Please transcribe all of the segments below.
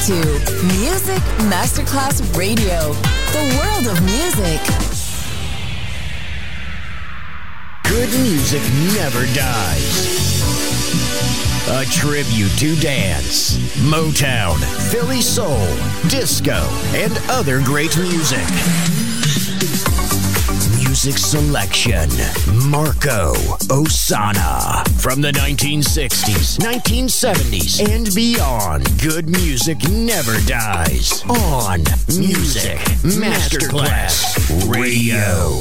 to Music Masterclass Radio, the world of music. Good music never dies. A tribute to dance, Motown, Philly soul, disco, and other great music. Music selection, Marco Ossanna. From the 1960s, 1970s, and beyond, good music never dies. On Music Masterclass Radio.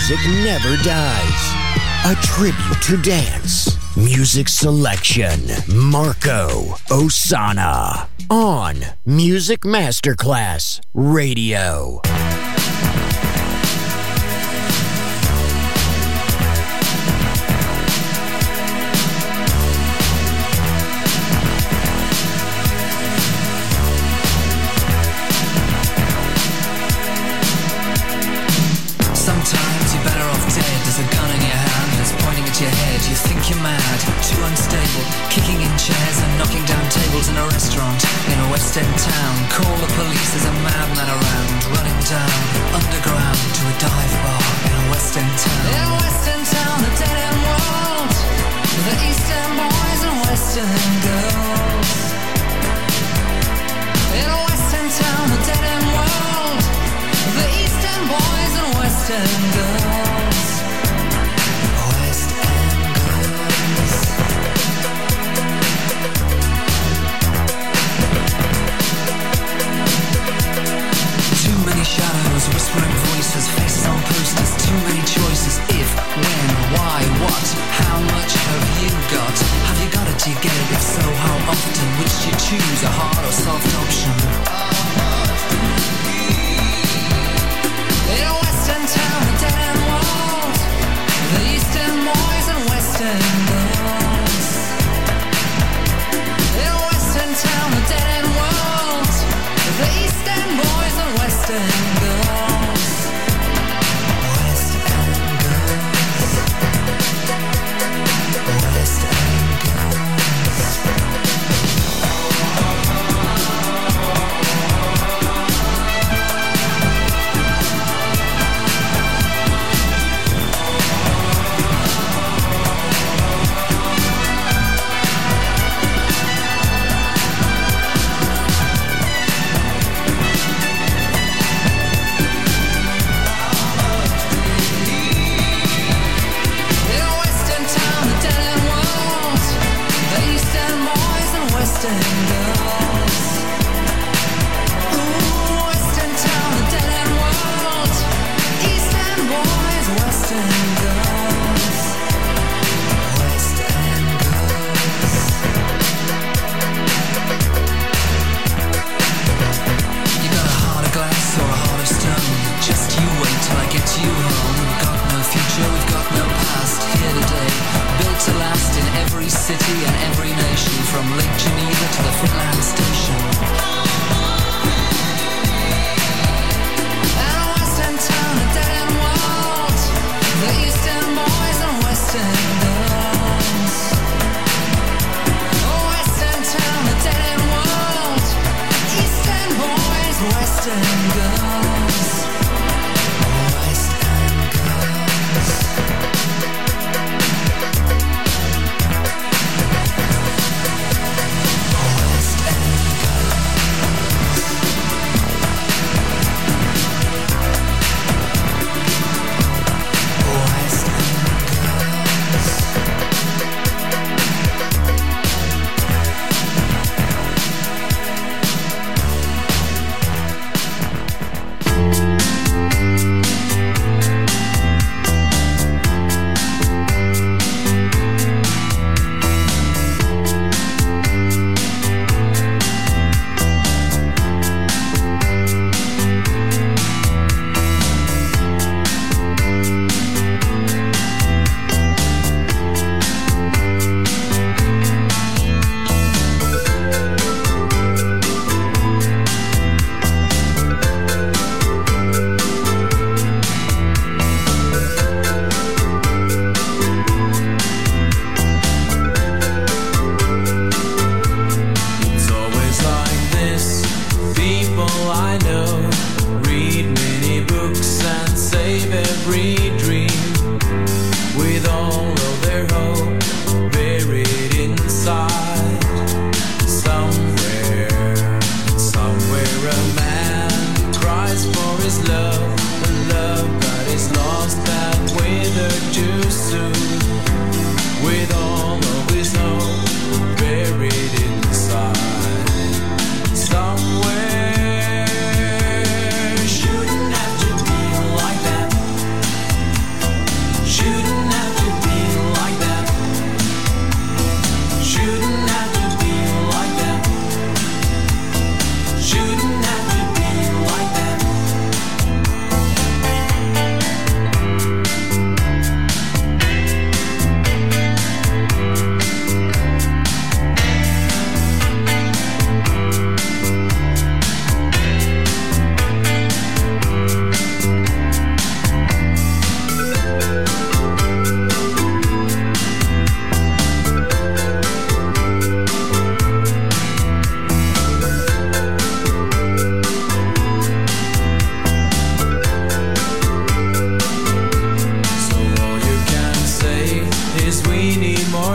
music never dies. A tribute to dance. Music selection. Marco Ossanna. On Music Masterclass Radio. Your head, you think you're mad, too unstable, kicking in chairs and knocking down tables in a restaurant in a West End town. Call the police, there's a madman around, running down underground to a dive bar in a West End town. In a West End town, a dead end world, the East End boys and West End girls. In a West End town, a dead end world, the East End boys and West End girls. Shadows, whispering voices, faces on posters, too many choices. If, when, why, what, how much have you got? Have you got it, do you get it? If so, how often? Which do you choose, a hard or soft option? In a western town, a dead end world, the eastern boys and western girls. In a western town, a dead end world, the eastern boys and western girls. West End girls. West End girls.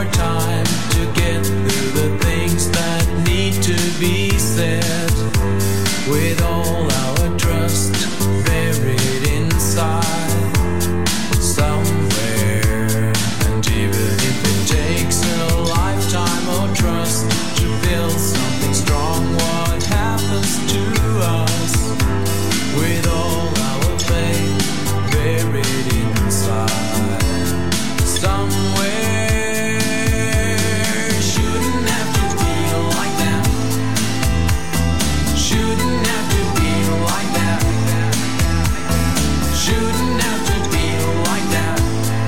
more time to get through the things that need to be said. With all our trust buried inside somewhere. And even if it takes a lifetime of trust to build something strong, what happens to us with all our faith buried inside somewhere? Shouldn't have to feel like that. Shouldn't have to feel like that. Shouldn't have to feel like that.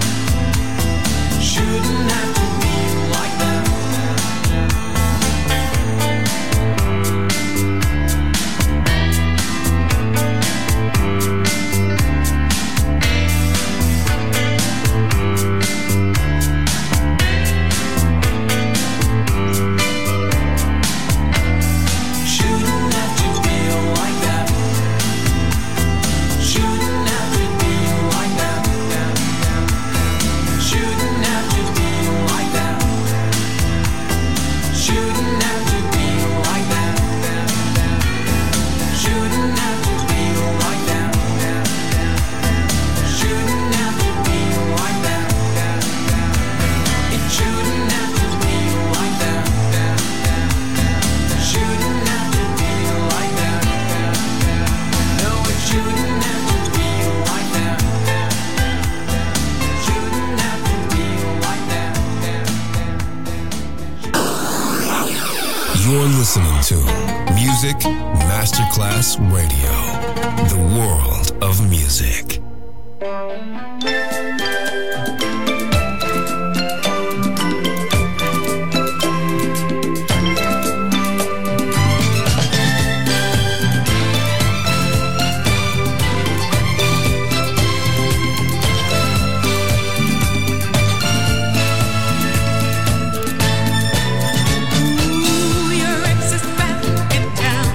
Shouldn't have to feel like that. Shouldn't have to feel like that. Shouldn't have to feel like that. Shouldn't have to feel like that. Shouldn't have to feel like that. Shouldn't have to feel like that. Shouldn't have to feel like that. It shouldn't have to feel like that. Shouldn't have to feel like that. No, it shouldn't have to feel like that. Shouldn't have to feel like that. You're listening to Music Masterclass Radio, the world of music. Your ex is back in town.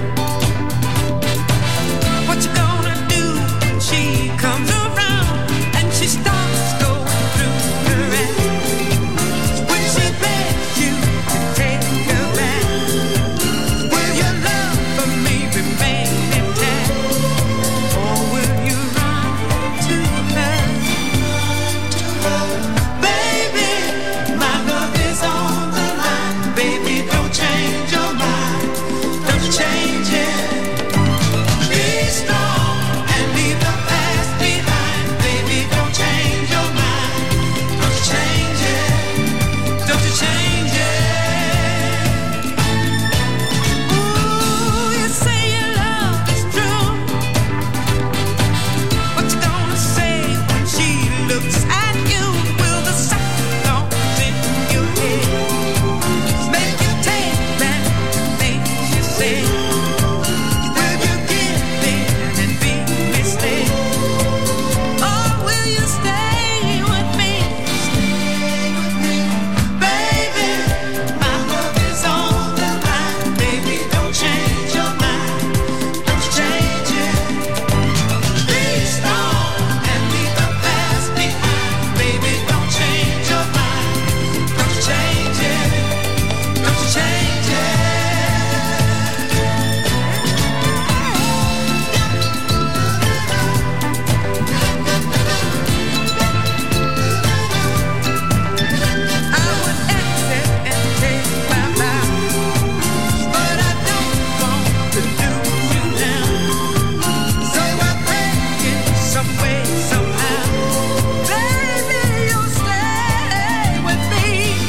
What you gonna do when she comes around and she starts going through her act? When she begs you to take her back, will your love for me remain intact, or will you run to her? Baby, my love is on the line. Baby, don't change your mind. Don't change it. Be strong and leave the past behind. Baby, don't change your mind. Don't change it. Don't you change it. Ooh, you say your love is true. What you gonna say when she looks at you? Will the sound in your head make you take back the things you said? Will you give in and be misled? Or will you stay with me? Baby, my love is on the line. Baby, don't change your mind. Don't change it. Be strong and leave the past behind. Baby, don't change your mind. Don't change it. Don't change it. I would exit and take my bow, but I don't want to lose you now. So I break it some way, somehow. Baby, you'll stay with me.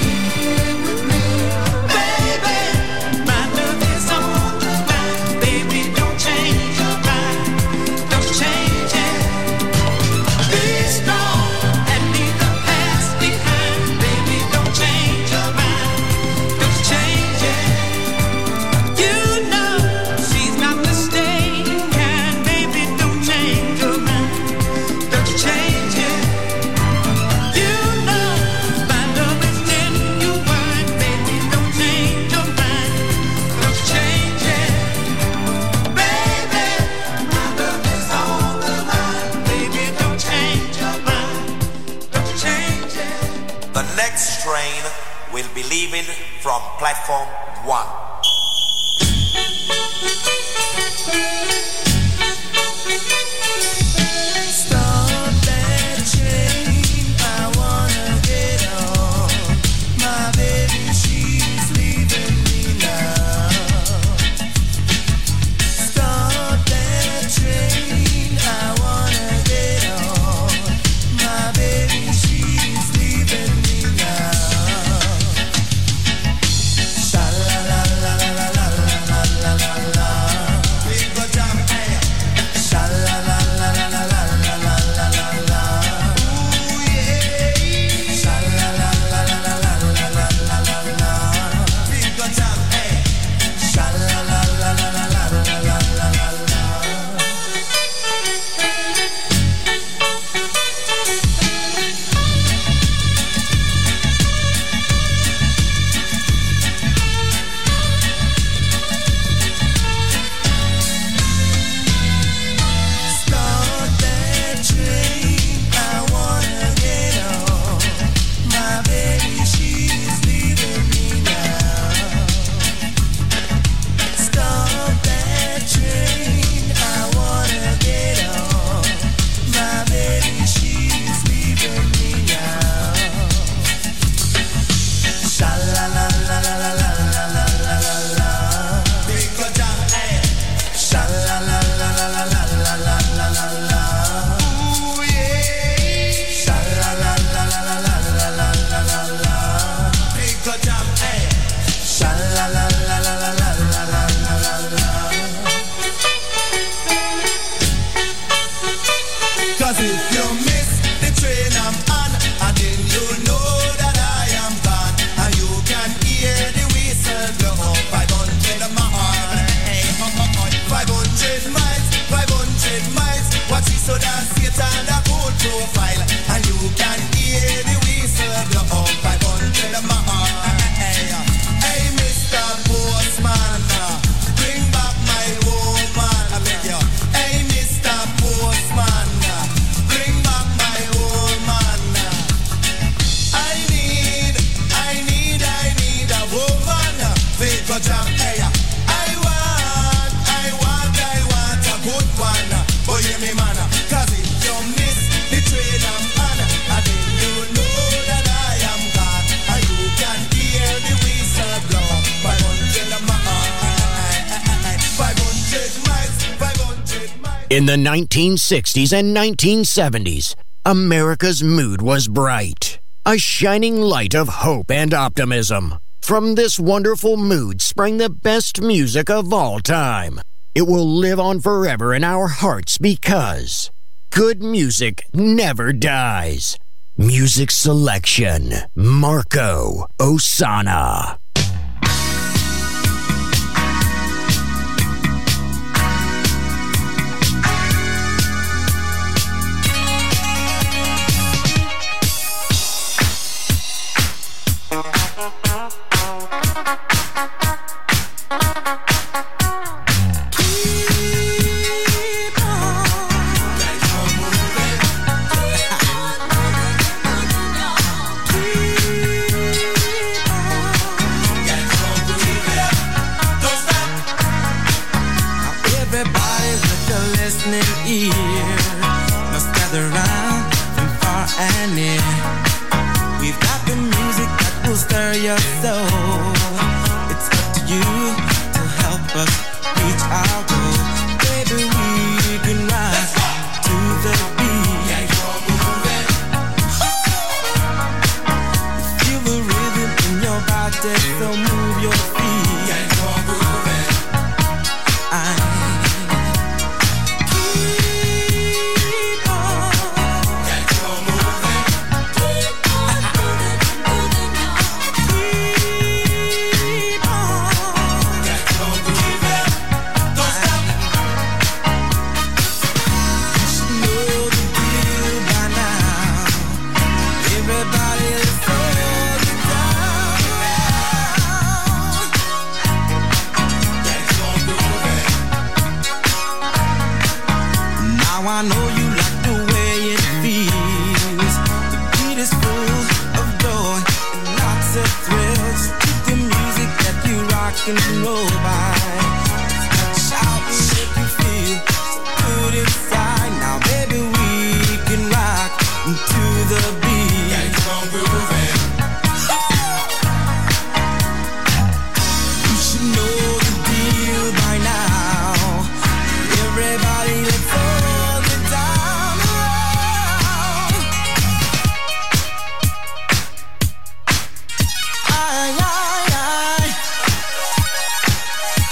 Baby, my love is on the line. Baby, don't change your mind. Don't change it. Be strong and leave the past behind. Baby, don't change your mind. Don't change it. You know she's not mistaken. Baby, don't change your mind. Don't change it. You know my love is genuine. Baby, don't change your mind. Don't change it. Baby, my love is on the line. Baby, don't change your mind. Don't change it. The next train will be leaving from platform 1. Stop that train, I wanna get on. My baby, she's leaving me now. Stop that train, I wanna get on. My baby, she's leaving me now. Sha la la la la la la la la la la. Big go jam, hey. Sha la la la la la la la la la la la. Ooh yeah. Sha la la la la la la la la la la la. Big go jam, hey. Sha la la la la la la la la la la la. Stop that train, I wanna get on. My baby, she's leaving me now. Stop that train, I wanna get on. My baby, she's leaving me now. Sha la la la la la la la la la la la. Big go jam, hey. Sha la la la la la la la la la la la. Ooh yeah. Sha la la la la la la la la la la la. Big go jam, hey. Sha la la la la la la la la la la la. 'Cause if you miss the train I'm on, and then you know that I am gone, and you can hear the whistle blow. 500 miles, hey, 500 miles, 500 miles. Watch it so that Satan a good profile, and you can hear the whistle blow. 500 miles, hey, Mr. Postman, bring back my woman, I beg you. Hey, Mr. Postman, bring back my woman. I need a woman. Big go jam, hey. I want a good one. But hear me, man, 'cause if you miss the train I'm on, and then you know that I am gone, and you can hear the whistle blow. 500 miles, 500 miles, 500 miles. In the 1960s and 1970s, America's mood was bright, a shining light of hope and optimism. From this wonderful mood sprang the best music of all time. It will live on forever in our hearts because good music never dies. Music selection, Marco Ossanna. Everybody with a listening ear must gather round from far and near. We've got the music that will stir your soul. It's up to you to help us reach our goal. Baby, we can rise to the beat. Yeah, you're moving. Feel the rhythm in your body, so move your feet. Yeah, you're moving. Keep on. Yeah, you're moving. Keep on moving, moving now. Keep on. Yeah, you're moving. Don't stop. You should know the deal by now. Everybody is holding down. can roll by. Shout if you feel good inside. Now, baby, we can rock to the beat. Gotta keep on grooving. You should know the deal by now. Everybody, let's all get down around. Aye, aye, aye.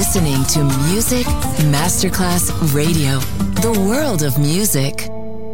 listening to Music Masterclass Radio, the world of music.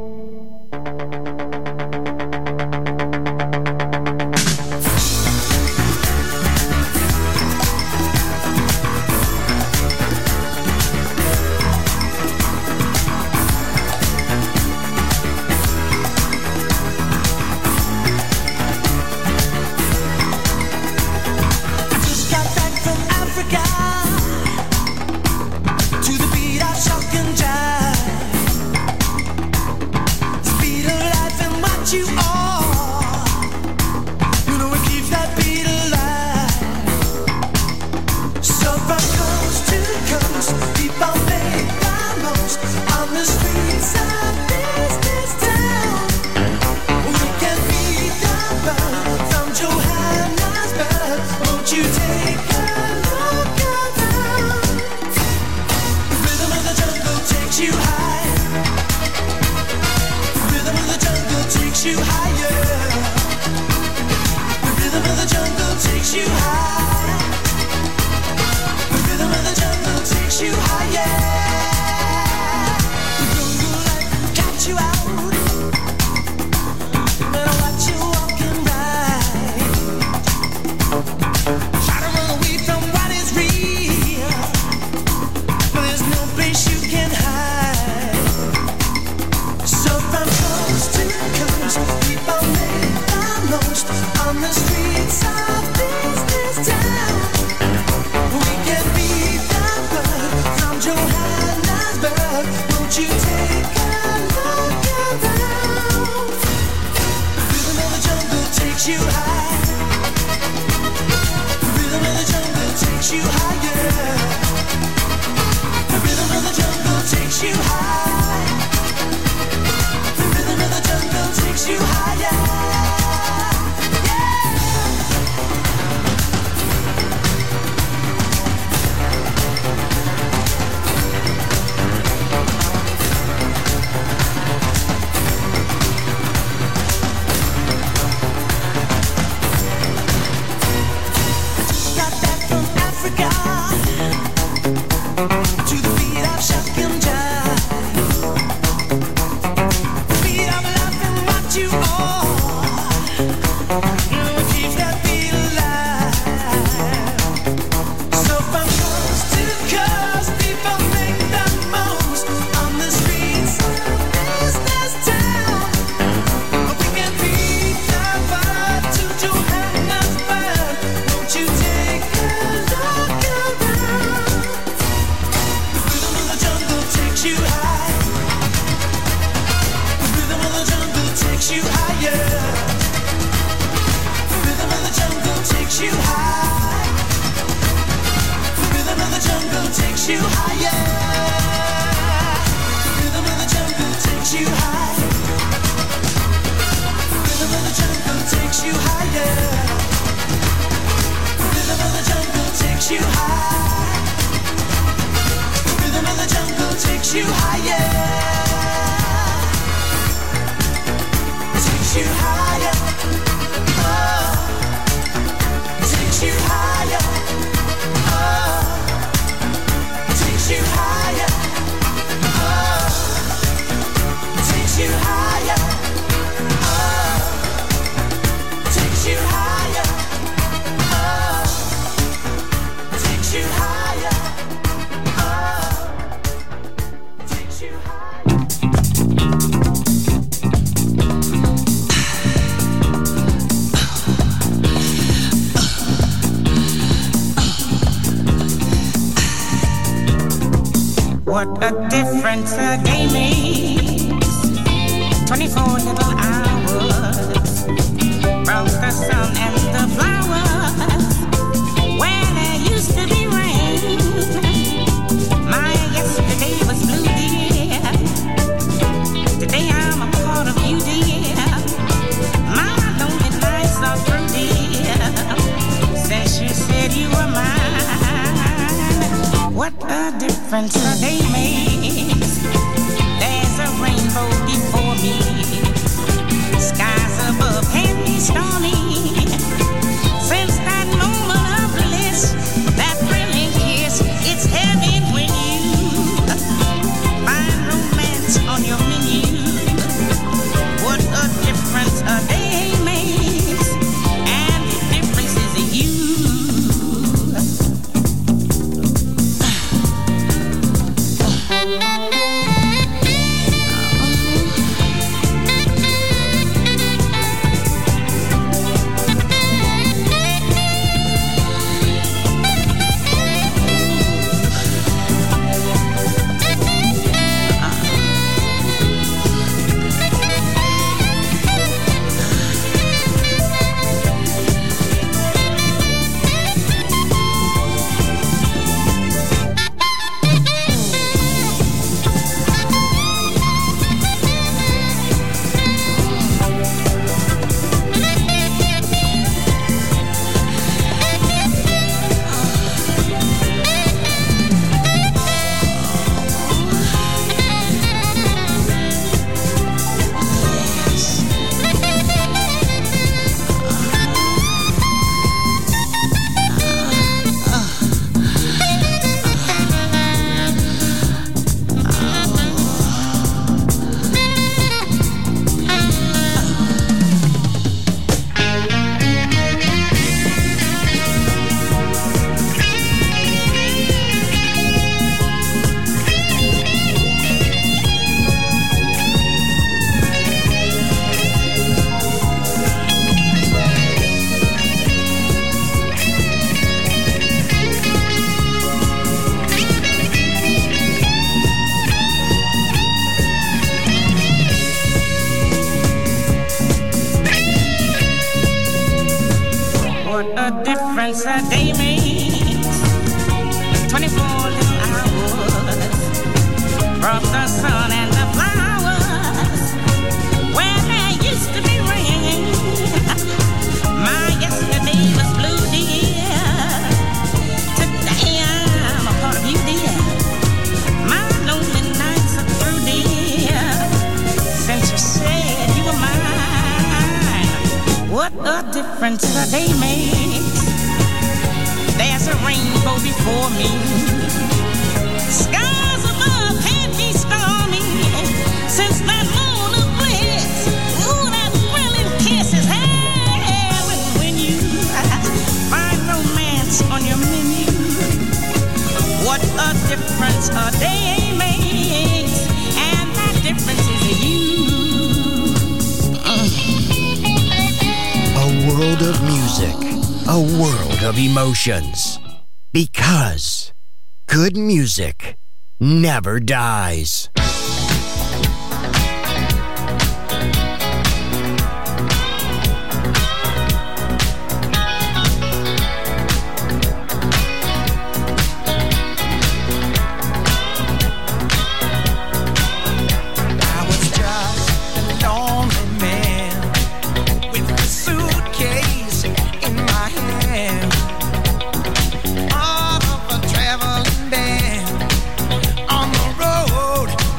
What a difference a day makes. 24 little hours brought the sun and the flowers where there used to be rain. My yesterday was blue, dear. Today I'm a part of you, dear. My lonely nights are through, dear. Since you said you were mine. What a difference a day makes. There's a rainbow before me, skies above What a difference a day makes. 24 little hours brought the sun and the flowers where there used to be rain. My yesterday was blue, dear. Today I'm a part of you, dear. My lonely nights are through, dear. Since you said you were mine, what a difference a day makes. There's a rainbow before me. Skies above can't be stormy. Since that moon of bliss, ooh, that thrilling kiss is heaven when you find romance on your menu. What a difference a day makes, and that difference is you. A world of music, a world of emotions. Because good music never dies. I was just a lonely man with a suitcase in my hand, part of a traveling band on the road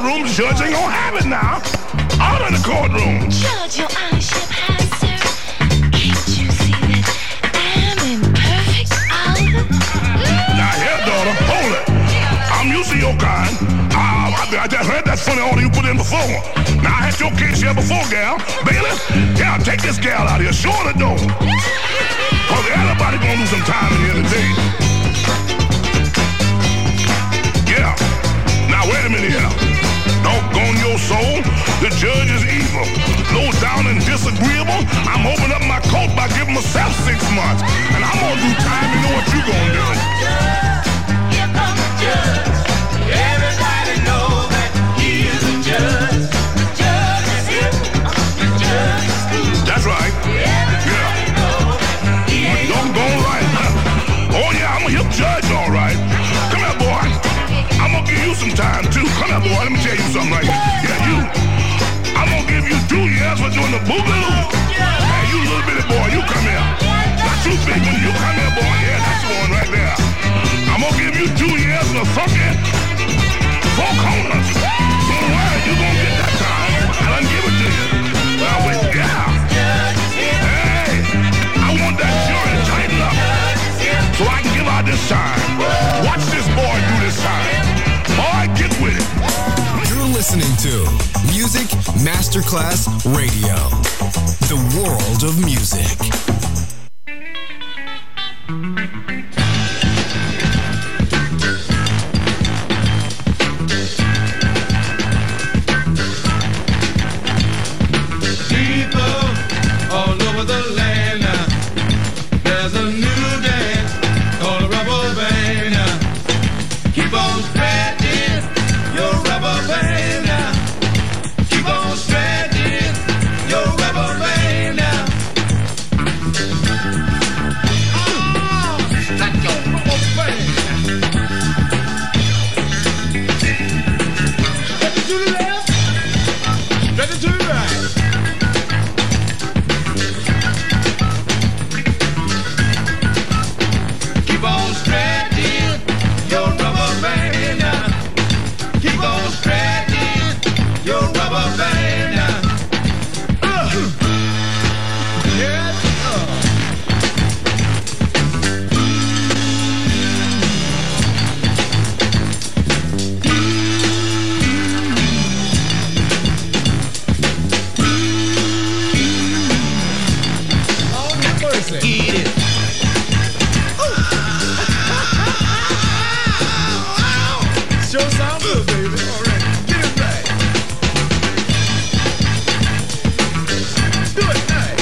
courtroom, the judge ain't gonna have it now. Order in the courtroom. Judge, your honorship has, sir. Can't you see that I'm in perfect order? Now here, daughter, hold it. I'm used to your kind. I just heard that funny order you put in before. Now I had your case here before, gal. Bailiff, yeah, take this gal out here. Show her the door. Cause everybody gonna do some time in here today. Yeah. Now wait a minute here. Doggone your soul. The judge is evil. Low down and disagreeable. I'm opening up my coat by giving myself 6 months. And I'm gonna do time. You know what you gonna do. Here comes the judge. Everybody knows that he is the judge. The judge is here. The judge is here. That's right. Everybody knows that he ain't doggone right. Oh yeah, I'm a hip judge, all right. Come here, boy. I'm gonna give you some time too. Come here, boy. Let me tell you something right here. Yeah, you. I'm gonna give you 2 years for doing the boogaloo. Hey, you little bitty boy, you come here. Not you big one, you come here, boy. Yeah, that's the one right there. I'm gonna give you 2 years for funky 4 corners. Don't worry, you gonna get that time. I done give it to you. Now wait, yeah. Hey, I want that jury to tighten up so I can give out this time. Watch this boy do this time. Boy, get with it. You're listening to Music Masterclass Radio, the world of music. people all over the land. There's a new dance called a rubber band. Keep on stretching your rubber band. Keep on stretching your rubber band. Oh, stretch your rubber band. Stretch it to the left. Stretch it to the right. Keep on stretching your rubber band. Keep on stretching your rubber band. Yes, Eat it. Sure sound good, baby. All right, get it right. Do it right.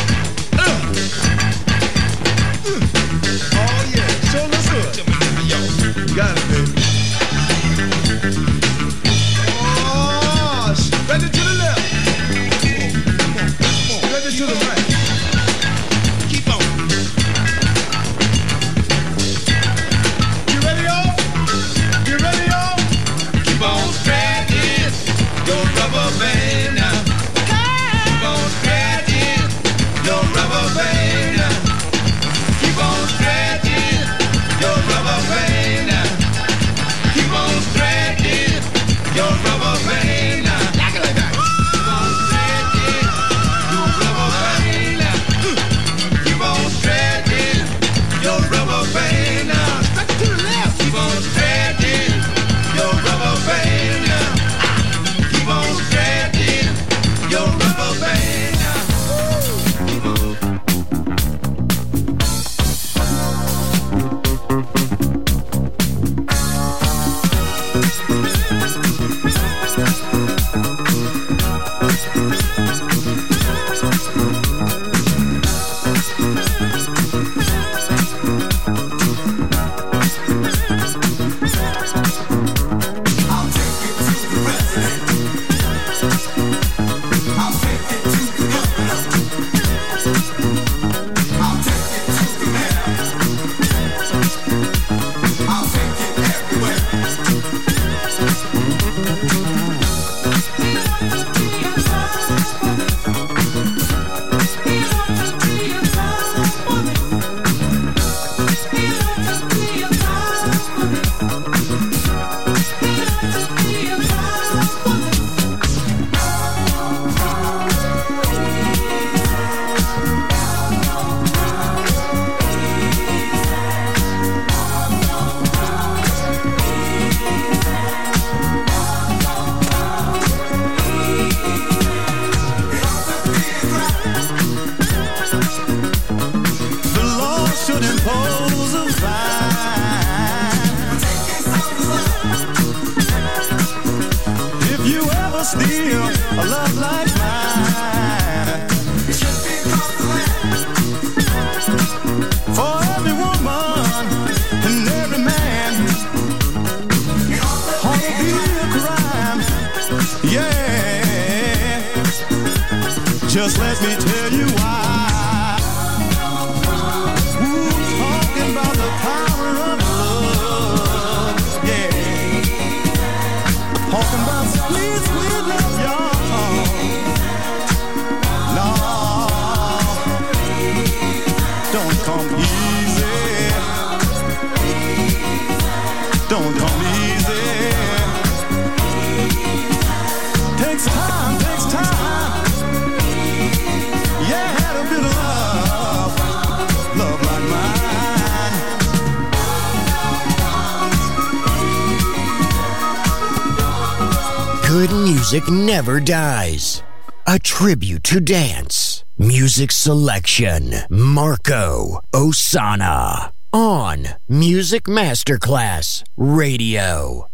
Oh yeah, sure looks good. Yo, you got it, baby. Oh, spread it to the left. Spread it to the right. Keep on. You ready, y'all? You ready, y'all? Keep on stretching. steal a love like mine. For every woman and every man, ought to be a crime. Yeah, just let me tell you why. Ooh, talking about the power of love. Yeah, talking about sweet, sweet love, y'all. No, don't come easy. Don't come easy. Takes time, takes time. Yeah, had a bit of love, love like mine. Good music never dies. A tribute to dance. Music selection. Marco Ossanna. On Music Masterclass Radio.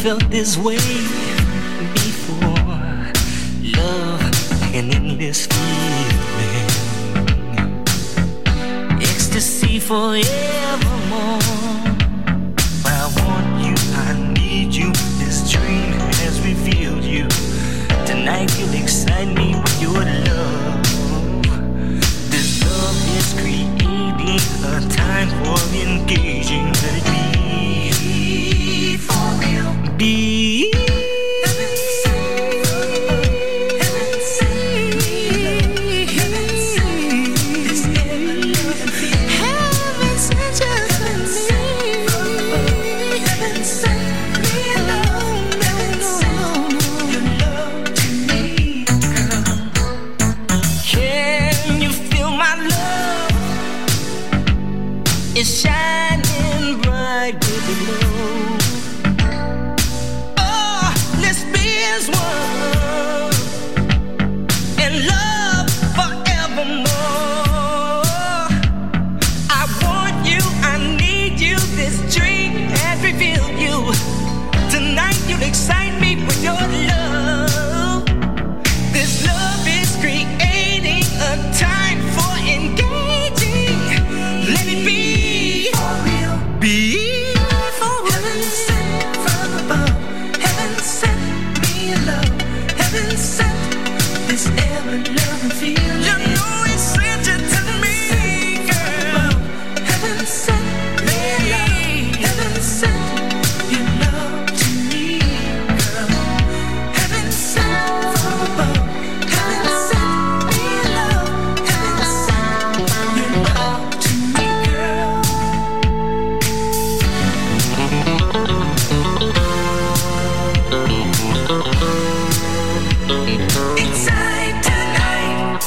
felt this way before. Love, an endless feeling, ecstasy forevermore. I want you, I need you. This dream has revealed you. Tonight you'll excite me with your love. This love is creating a time for engaging. Let it be for real. Be it's shining bright with the glow. Oh, let's be as one in love forevermore. I want you, I need you. This dream has revealed you. Tonight you'll excite me with your love. This love is creating a time for engaging. Let it be. Be for heaven sent from above. Heaven sent me a love. Heaven sent this ever loving feeling. You know he sent it to me, girl. Heaven sent me a love. Heaven sent your love to me, girl. Heaven sent from above. Heaven sent me a love. Heaven sent your love to me, girl. Inside tonight.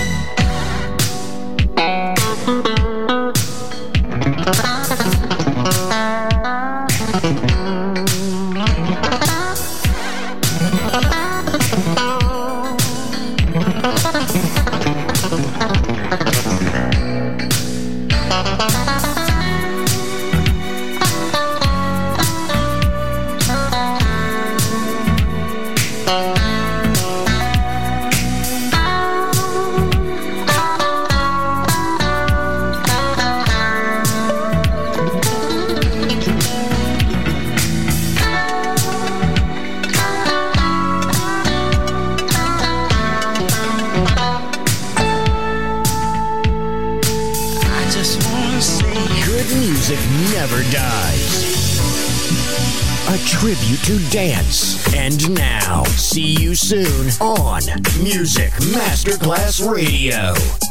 Never dies. A tribute to dance. And now, see you soon on Music Masterclass Radio.